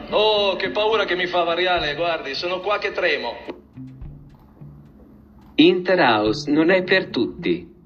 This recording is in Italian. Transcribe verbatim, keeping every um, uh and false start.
Oh, che paura che mi fa Variale, guardi, sono qua che tremo. Interhouse non è per tutti.